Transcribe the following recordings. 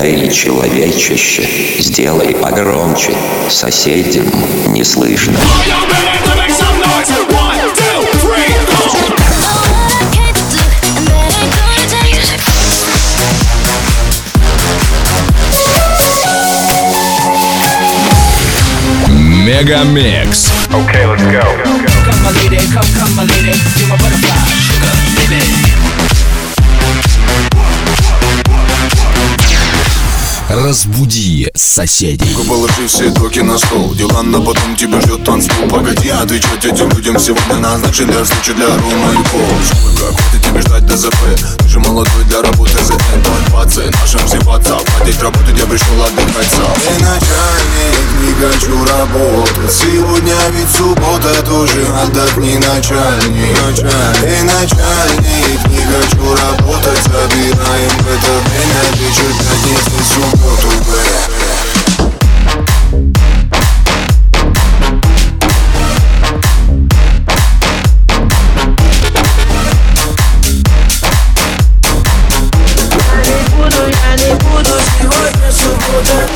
Эй, человечище, сделай погромче, соседям не слышно. Мегамикс. Okay, let's go. Come my lady, come my lady, you're my butterfly, sugar, baby. Разбуди соседей. Положи все токи на стол. Дела на потом, тебя ждет танцпол. Погоди отвечать этим людям. Сегодня назначен для встречи для Рома и Пол. Как хватит тебе ждать ДЗП? Ты же молодой для работы ЗН. Давай пацы, нашим взеваться. Платить работу, я пришел отдыхать сам. Ты начальник, не хочу работать. Сегодня ведь суббота, тоже отдохни, начальник. Эй, начальник, не хочу работать. Забираем в это время вечер пятницы, субботу. Я не буду, сегодня суббота.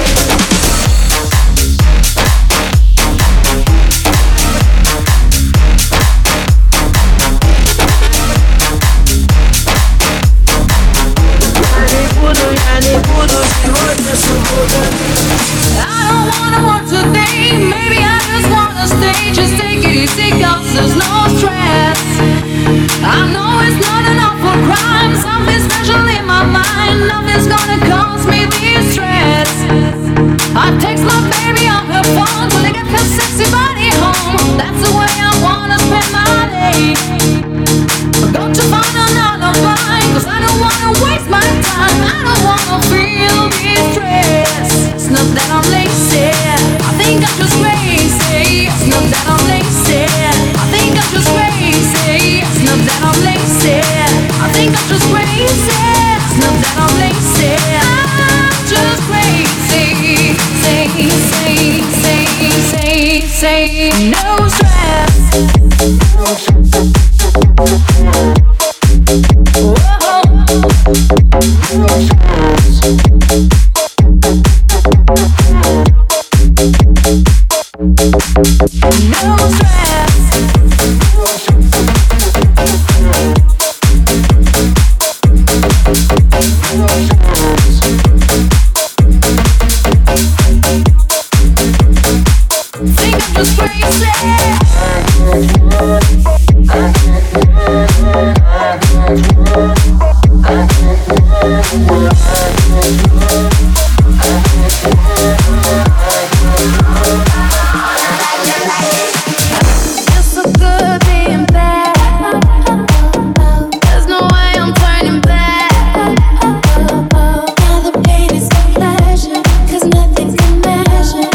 Я не буду, сегодня суббота. I don't wanna work today. Maybe I just wanna stay. Just take it easy, 'cause there's no stress. I know it's not enough for crime. Something special in my mind. Nothing's gonna cause me this stress. I text my baby on her phone till I get her sexy body home. That's the way I wanna spend my day. I've got to find an alibi, 'cause I don't wanna waste my time. I don't wanna feel this stress. It's not that I'm lazy, I think I'm just crazy. It's not that I'm lazy, I think I'm just crazy. It's not that I'm lazy, I think I'm just crazy. It's not that I'm lazy, I'm just crazy. Say, no stress. No stress. Think I'm just crazy. You're so good being bad. There's no way I'm turning back. Now the pain is my pleasure, 'cause nothing can measure.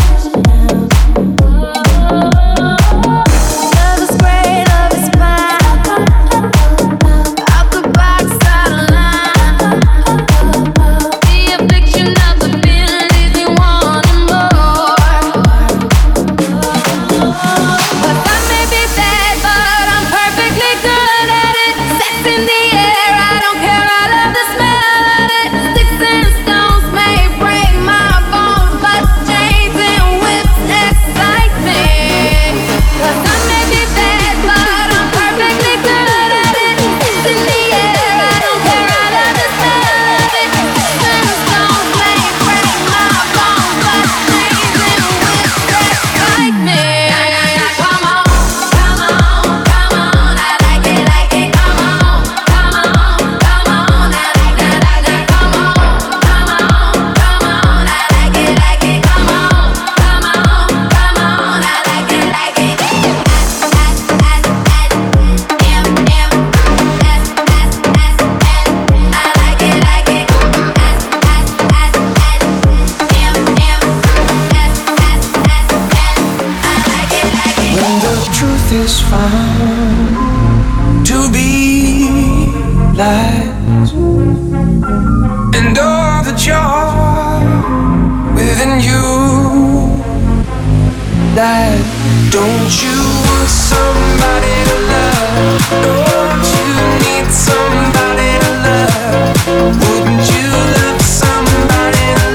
Love is great, love is fine. Out the box, out of line. The affliction of the feeling leaves me wanting more. But I may be bad, but I'm perfectly good at it. Sex in the air, I don't care, I love the smell of it. Sticks and stones may break my bones, but chains and whips excite me. 'Cause I may be bad, but I'm perfectly good at it. Sex in the air, I don't care, I love the smell of it. Sticks and stones may break my bones, but chains and whips excite me. Come on, come on, come on, I like it, come on, come on, come on, I like that, come on, come on, come on, I like it, come on, come on, come on, I like it, I like it, come on, When the truth is found to be lies, and all the joy within you died. Don't you want somebody to love? Don't you need somebody to love? Wouldn't you love somebody to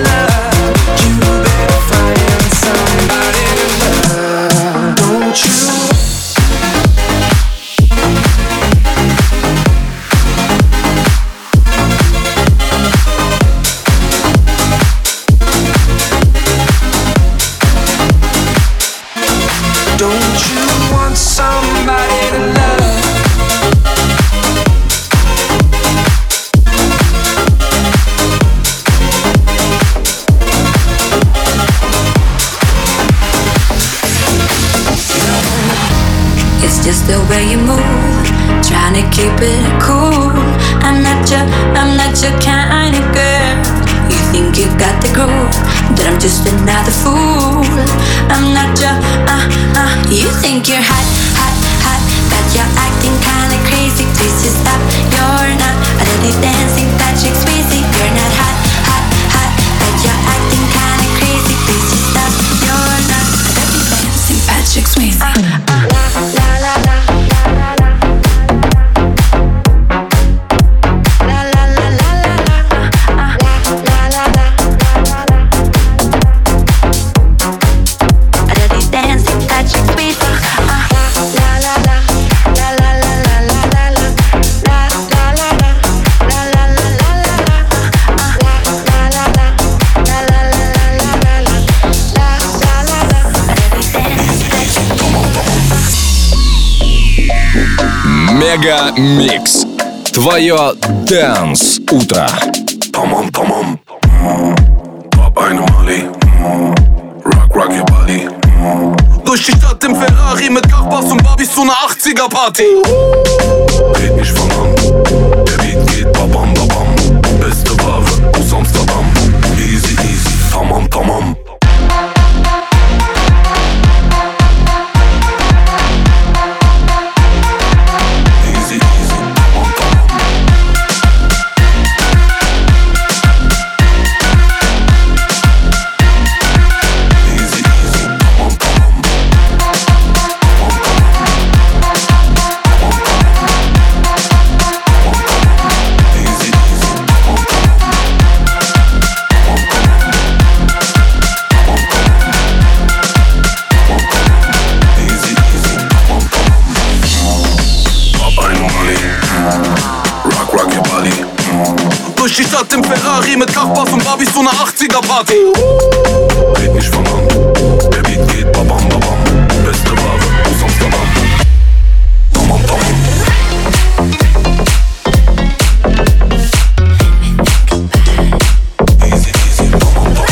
just the way you move, trying to keep it cool. I'm not your kind of girl. You think you got the groove, but I'm just another fool. I'm not your, you think you're hot, hot, hot, but you're acting kinda crazy. Please just stop, you're not a dirty dancing Patrick Swayze. You're not hot, hot, hot, but you're acting kinda crazy. Please just stop, you're not a dirty dancing Patrick Swayze. Мега Микс. Твое Dance утро. Tamam tamam. Pop eine Mali. Rock your body. Durch die Stadt im Ferrari mit Kachbass und Barbies zu einer 80er-Party. Red nicht von an. Der Beat geht babam babam. Beste Ware aus Amsterdam. Easy easy. Tamam tamam. Durch die Stadt im Ferrari mit Kachbass und Barbies zu einer 80er-Party. Red nicht von an, der Beat geht babam babam. Beste Ware aus Amsterdam. Tamam tamam. Easy easy, tamam tamam.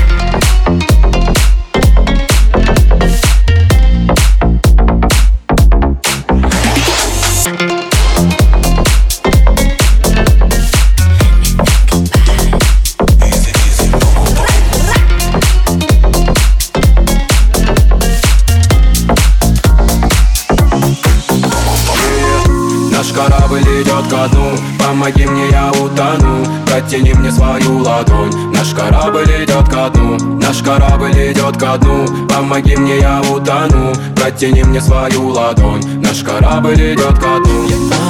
Корабль идет ко дну, помоги мне, я утону. Протяни мне свою ладонь. Наш корабль идет ко дну, наш корабль идет ко дну. Помоги мне, я утону. Протяни мне свою ладонь. Наш корабль идет ко дну.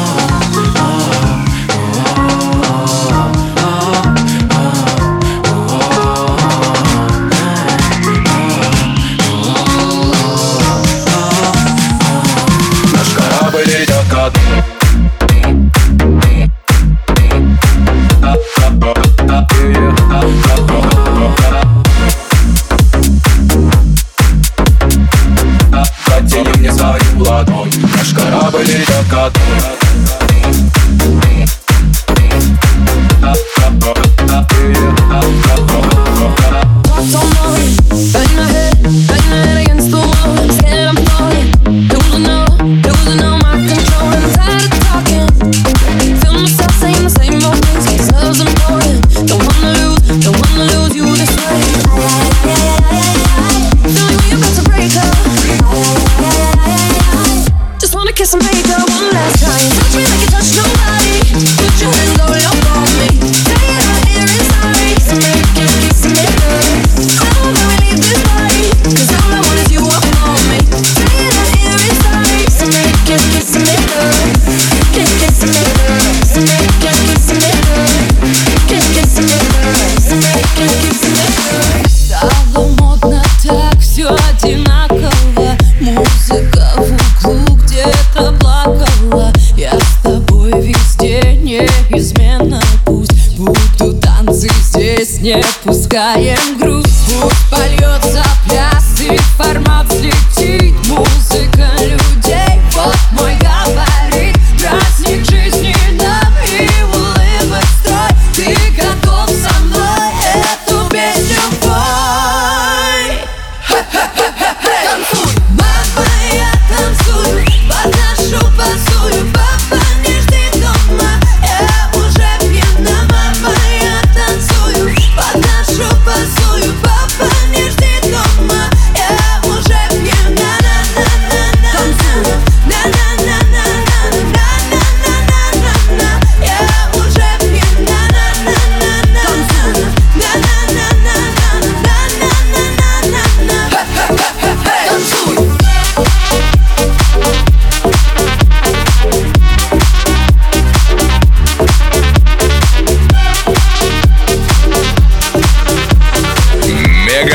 Наш корабль идет ко дну. Протяни мне свою ладонь. Наш корабль идет ко дну. Kiss and make her one last time. Touch me like you touch nobody. Put your hands all up on me. Say it right here inside. So make it kiss and make her. I don't wanna leave this body, 'cause all I want is you up on me. Say it right here inside. So make it kiss and make her. Kiss and make her. So make it kiss and make her. Kiss and make her. So make it kiss and make her. Стало модно так, все одинаково. Музыка в углу где-то плакала. Я с тобой везде неизменно. Пусть будут танцы здесь, не пускаем грусть. Пусть польется пляс и формат взлетит. Музыка людей, вот мой габарит. Праздник жизни нам и улыбок строй. Ты готов со мной эту песню пой. Танцуй, мама, я танцую.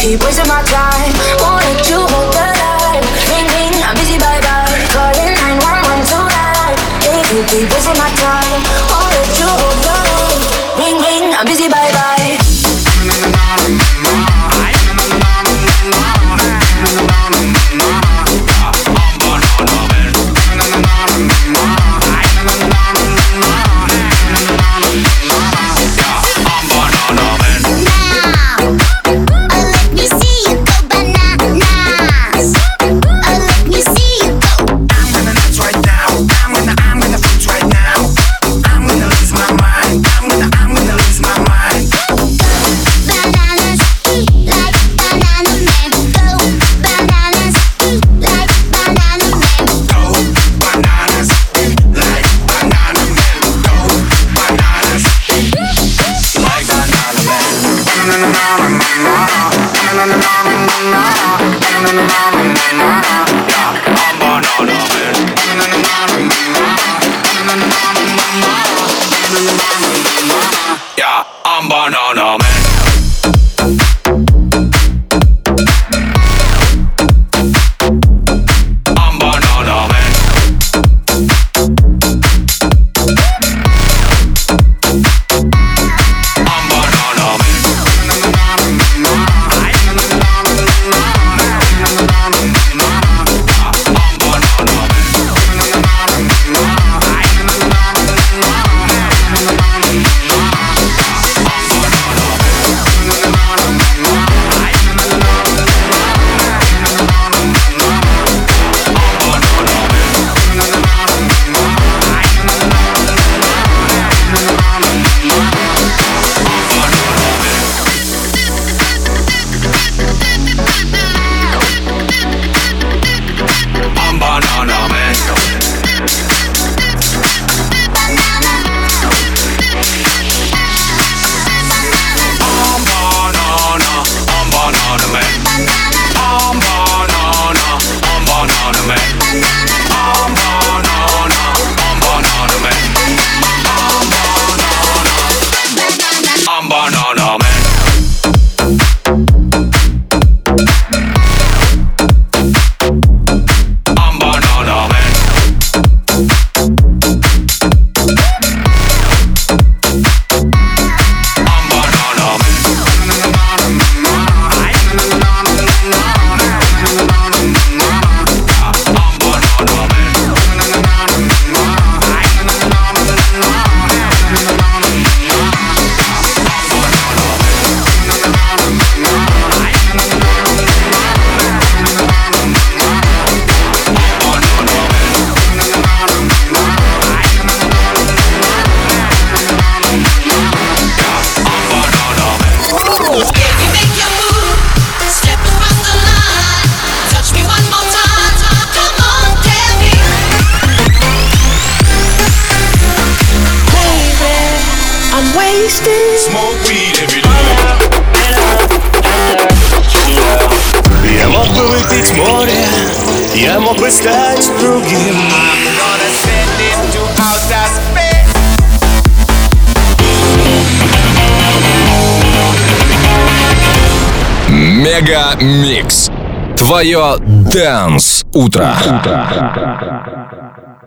keep wasting my time. Won't let you hold the line. Ring ring, I'm busy, bye bye. Calling 911 tonight. If you keep wasting my time, won't let you hold the line. Ring ring, I'm busy, bye bye. Yeah, I'm banana man. Я мог бы выпить море, я мог бы стать другим. Мега Микс. Твое Dance утро.